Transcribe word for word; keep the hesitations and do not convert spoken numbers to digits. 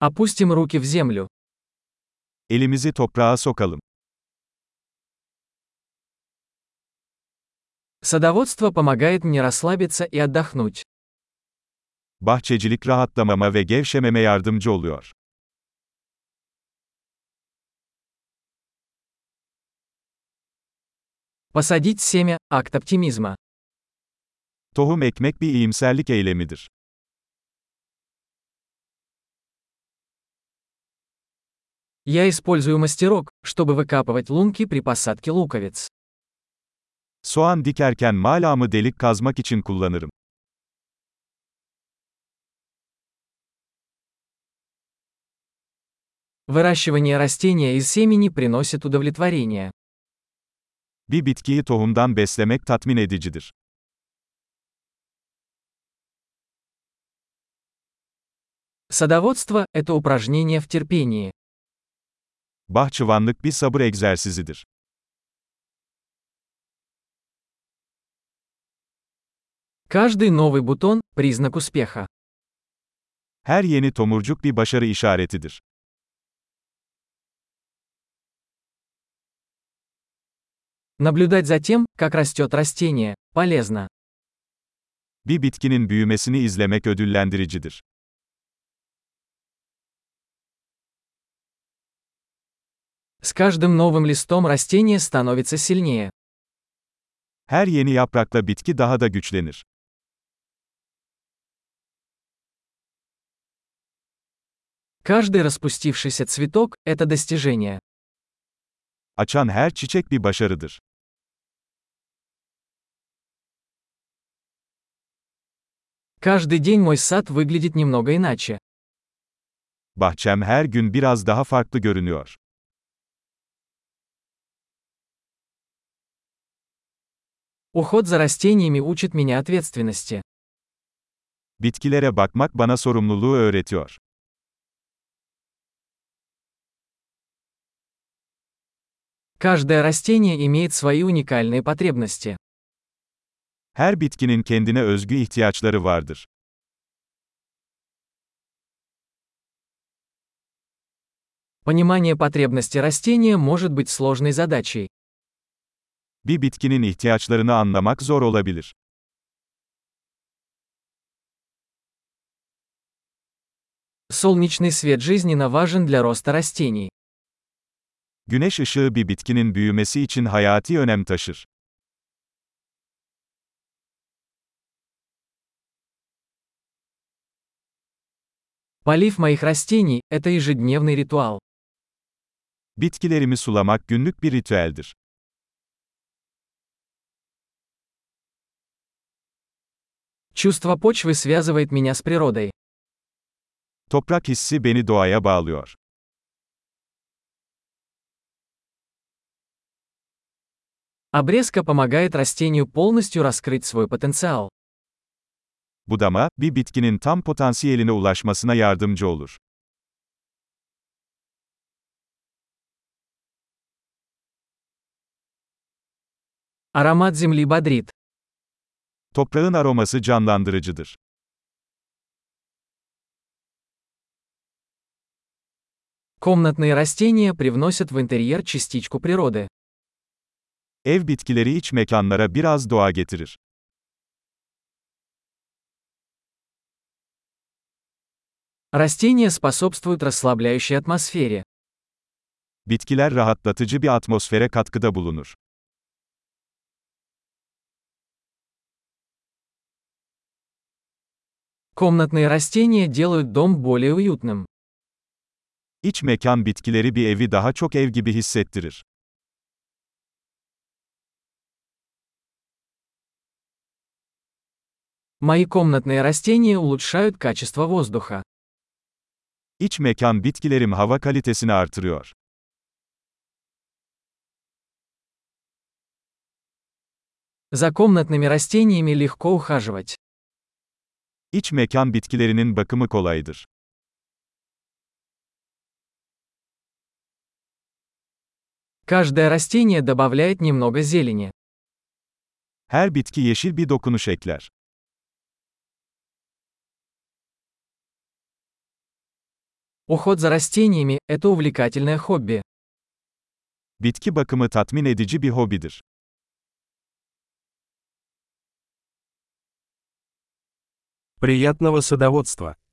Опустим руки в землю. Elimizi toprağa sokalım. Садоводство помогает мне расслабиться и отдохнуть. Bahçecilik rahatlamama ve gevşememe yardımcı oluyor. Посадить семя– акт оптимизма. Tohum ekmek bir iyimserlik eylemidir. Я использую мастерок, чтобы выкапывать лунки при посадке луковиц. Soğan dikerken malamı delik kazmak için kullanırım. Выращивание растения из семени приносит удовлетворение. Bir bitkiyi tohumdan beslemek tatmin edicidir. Садоводство– это упражнение в терпении. Bahçıvanlık bir sabır egzersizidir. Каждый новый бутон– признак успеха. Her yeni tomurcuk bir başarı işaretidir. Наблюдать за тем, как растет растение, полезно. Bir bitkinin büyümesini izlemek ödüllendiricidir. С каждым новым листом растение становится сильнее. Her yeni yaprakla bitki daha da güçlenir. Каждый распустившийся цветок– это достижение. Açan her çiçek bir başarıdır. Каждый день мой сад выглядит немного иначе. Bahçem her gün biraz daha farklı görünüyor. Уход за растениями учит меня ответственности. Bitkilere bakmak bana sorumluluğu öğretiyor. Каждое растение имеет свои уникальные потребности. Her bitkinin kendine özgü ihtiyaçları vardır. Понимание потребностей растения может быть сложной задачей. Bir bitkinin ihtiyaçlarını anlamak zor olabilir. Солнечный свет жизненно важен для роста растений. Güneş ışığı bir bitkinin büyümesi için hayati önem taşır. Полив моих растений– это ежедневный ритуал. Bitkilerimi sulamak günlük bir ritüeldir. Чувство почвы связывает меня с природой. Toprak hissi beni doğaya bağlıyor. Обрезка помогает растению полностью раскрыть свой потенциал. Budama, bir bitkinin tam potansiyeline ulaşmasına yardımcı olur. Аромат земли бодрит. Toprağın aroması canlandırıcıdır. Комнатные растения привносят в интерьер частичку природы. Ev bitkileri iç mekanlara biraz doğa getirir. Растения способствуют расслабляющей атмосфере. Bitkiler rahatlatıcı bir atmosfere katkıda bulunur. Комнатные растения делают дом более уютным. İç mekan bitkileri bir evi daha çok ev gibi hissettirir. Мои комнатные растения улучшают качество воздуха. İç mekan bitkilerim hava kalitesini artırıyor. За комнатными растениями легко ухаживать. İç mekan bitkilerinin bakımı kolaydır. Каждое растение добавляет немного зелени. Her bitki yeşil bir dokunuş ekler. Уход за растениями – это увлекательное хобби. Bitki bakımı tatmin edici bir hobidir. Приятного садоводства!